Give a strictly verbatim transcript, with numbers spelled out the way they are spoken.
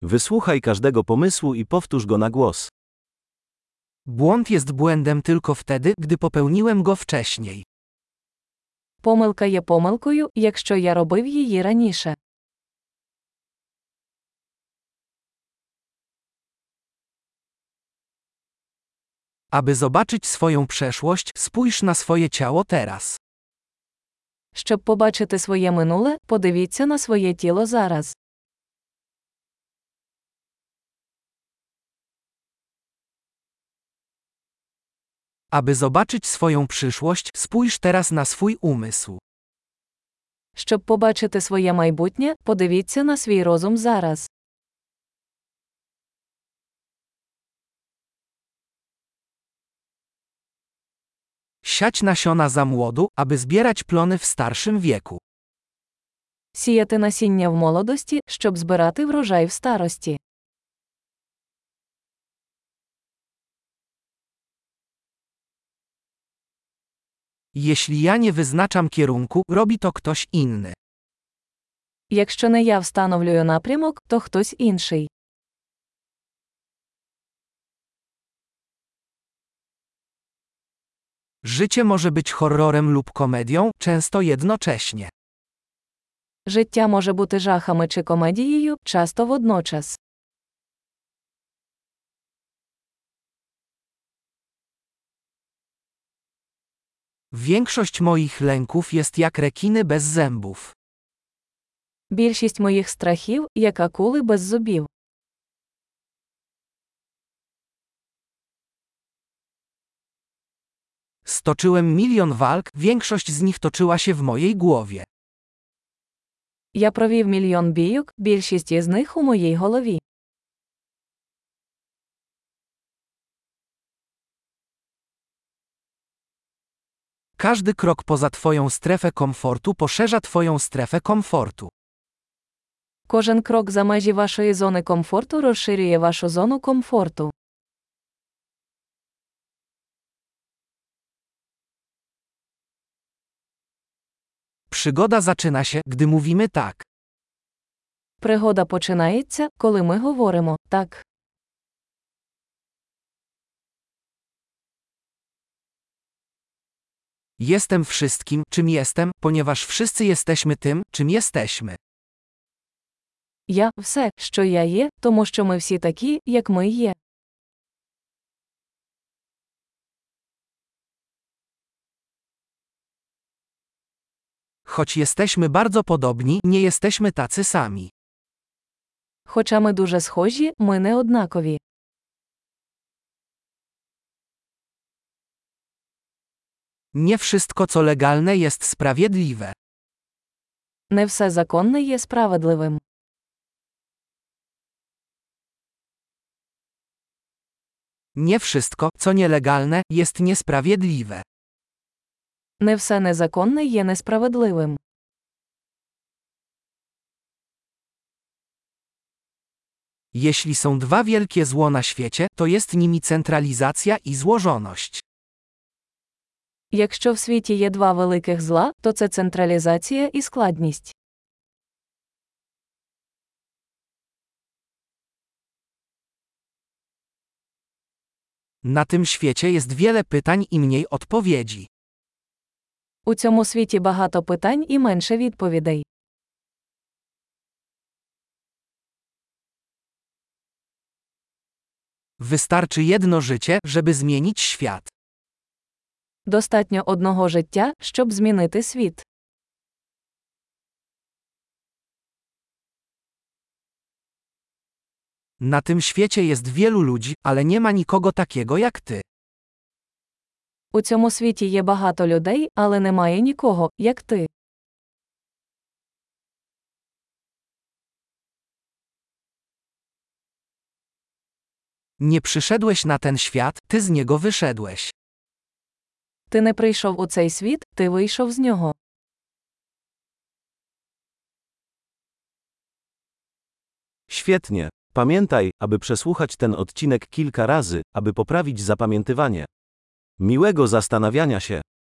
Wysłuchaj każdego pomysłu i powtórz go na głos. Błąd jest błędem tylko wtedy, gdy popełniłem go wcześniej. Помилка є помилкою, якщо я робив її раніше. Aby zobaczyć swoją przeszłość, spójrz na swoje ciało teraz. Щоб побачити своє минуле, подивіться на своє тіло зараз. Aby zobaczyć swoją przyszłość, spójrz teraz na swój umysł. Щоб побачити своє майбутнє, подивіться на свій розум зараз. Siać nasiona za młodu, aby zbierać plony w starszym wieku. Сіяти насіння в молодості, щоб збирати врожай в старості. Jeśli ja nie wyznaczam kierunku, robi to ktoś inny. Якщо не я встановлюю напрямок, то хтось інший. Życie może być horrorem lub komedią, często jednocześnie. Життя може бути жахами чи комедією, часто водночас. Większość moich lęków jest jak rekiny bez zębów. Більшість моїх страхів – як акули без зубів. Stoczyłem milion walk, większość z nich toczyła się w mojej głowie. Я провів мільйон бійок, більшість із них у моїй голові. Każdy krok poza twoją strefę komfortu poszerza twoją strefę komfortu. Кожен крок за межі вашої зони комфорту розширює вашу зону комфорту. Przygoda zaczyna się, gdy mówimy tak. Пригода починається, коли ми говоримо «так». Jestem wszystkim, czym jestem, ponieważ wszyscy jesteśmy tym, czym jesteśmy. Я – все, що я є, тому що ми всі такі, як ми є. Choć jesteśmy bardzo podobni, nie jesteśmy tacy sami. Хоча ми дуже схожі, ми не однакові. Nie wszystko, co legalne, jest sprawiedliwe. Не все законне є справедливим. Nie wszystko, co nielegalne, jest niesprawiedliwe. Не все незаконне є несправедливим. Jeśli są dwa wielkie zło na świecie, to jest nimi centralizacja i złożoność. Якщо в світі є два великих зла, то це централізація і складність. Na tym świecie jest wiele pytań i mniej odpowiedzi. У цьому світі багато питань і менше відповідей. Wystarczy jedno życie, żeby zmienić świat. Достатньо одного життя, щоб змінити світ. Na tym świecie jest wielu ludzi, ale nie ma nikogo takiego jak ty. У цьому світі є багато людей, але немає нікого, як ти. Nie przyszedłeś na ten świat, ty z niego wyszedłeś. Ти не прийшов у цей світ, ти вийшов з нього. Świetnie. Pamiętaj, aby przesłuchać ten odcinek kilka razy, aby poprawić zapamiętywanie. Miłego zastanawiania się.